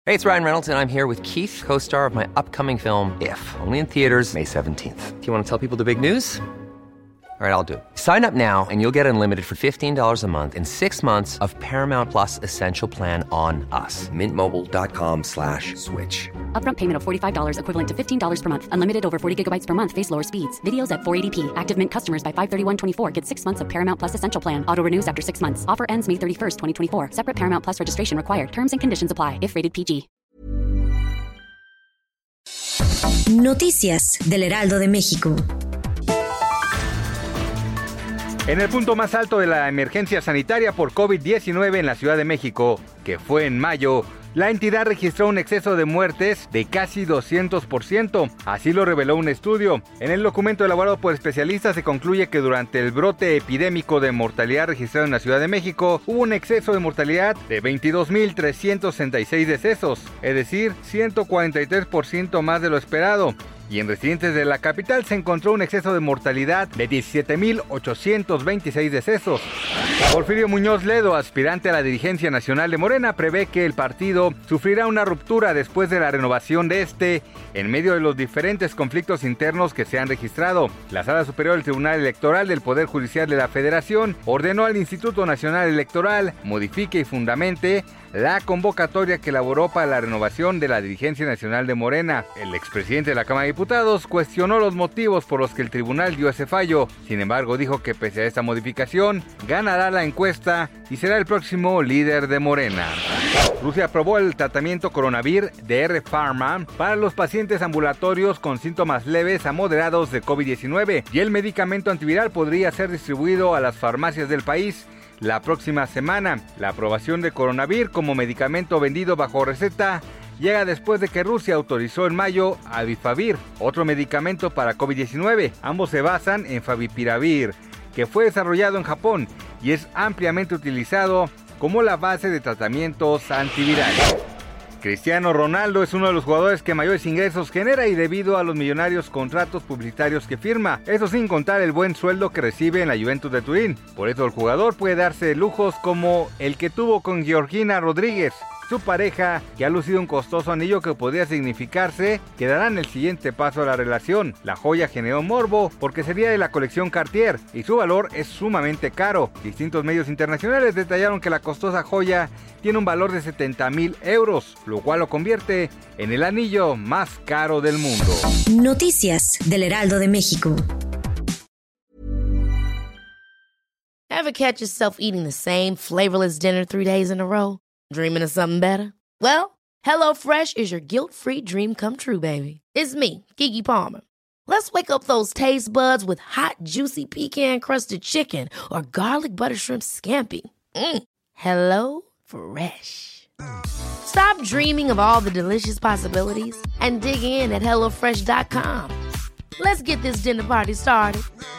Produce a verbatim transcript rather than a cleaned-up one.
Hey, it's Ryan Reynolds, and I'm here with Keith, co-star of my upcoming film, If, only in theaters May seventeenth. Do you want to tell people the big news? All right, I'll do it. Sign up now and you'll get unlimited for fifteen dollars a month and six months of Paramount Plus Essential Plan on us. Mint Mobile dot com slash switch. Upfront payment of forty-five dollars equivalent to fifteen dollars per month. Unlimited over forty gigabytes per month. Face lower speeds. Videos at four eighty p. Active Mint customers by five thirty-one twenty-four get six months of Paramount Plus Essential Plan. Auto renews after six months. Offer ends May thirty-first, twenty twenty-four. Separate Paramount Plus registration required. Terms and conditions apply if rated P G. Noticias del Heraldo de México. En el punto más alto de la emergencia sanitaria por COVID diecinueve en la Ciudad de México, que fue en mayo, la entidad registró un exceso de muertes de casi doscientos por ciento, así lo reveló un estudio. En el documento elaborado por especialistas se concluye que durante el brote epidémico de mortalidad registrado en la Ciudad de México, hubo un exceso de mortalidad de veintidós mil trescientos sesenta y seis decesos, es decir, ciento cuarenta y tres por ciento más de lo esperado. Y en residentes de la capital se encontró un exceso de mortalidad de diecisiete mil ochocientos veintiséis decesos. Porfirio Muñoz Ledo, aspirante a la dirigencia nacional de Morena, prevé que el partido sufrirá una ruptura después de la renovación de este, en medio de los diferentes conflictos internos que se han registrado. La Sala Superior del Tribunal Electoral del Poder Judicial de la Federación ordenó al Instituto Nacional Electoral modifique y fundamente la convocatoria que elaboró para la renovación de la dirigencia nacional de Morena. El expresidente de la Cámara de Diputados cuestionó los motivos por los que el tribunal dio ese fallo. Sin embargo, dijo que pese a esta modificación, ganará la encuesta y será el próximo líder de Morena. Rusia aprobó el tratamiento Coronavir de R Pharma para los pacientes ambulatorios con síntomas leves a moderados de COVID diecinueve y el medicamento antiviral podría ser distribuido a las farmacias del país la próxima semana. La aprobación de Coronavir como medicamento vendido bajo receta llega después de que Rusia autorizó en mayo Avifavir, otro medicamento para COVID diecinueve. Ambos se basan en Favipiravir, que fue desarrollado en Japón y es ampliamente utilizado como la base de tratamientos antivirales. Cristiano Ronaldo es uno de los jugadores que mayores ingresos genera y debido a los millonarios contratos publicitarios que firma, eso sin contar el buen sueldo que recibe en la Juventus de Turín. Por eso el jugador puede darse lujos como el que tuvo con Georgina Rodríguez, su pareja, que ha lucido un costoso anillo que podría significarse que darán el siguiente paso a la relación. La joya generó morbo porque sería de la colección Cartier y su valor es sumamente caro. Distintos medios internacionales detallaron que la costosa joya tiene un valor de setenta mil euros, lo cual lo convierte en el anillo más caro del mundo. Noticias del Heraldo de México. Ever catch yourself eating the same flavorless dinner three days in a row? Dreaming of something better? Well, HelloFresh is your guilt-free dream come true, baby. It's me, Keke Palmer. Let's wake up those taste buds with hot, juicy pecan-crusted chicken or garlic butter shrimp scampi. Mm. Hello Fresh. Stop dreaming of all the delicious possibilities and dig in at hello fresh dot com. Let's get this dinner party started.